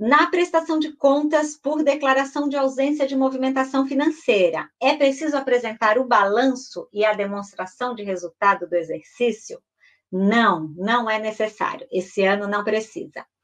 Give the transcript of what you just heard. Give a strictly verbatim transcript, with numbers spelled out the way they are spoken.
Na prestação de contas por declaração de ausência de movimentação financeira, é preciso apresentar o balanço e a demonstração de resultado do exercício? Não, não é necessário. Esse ano não precisa.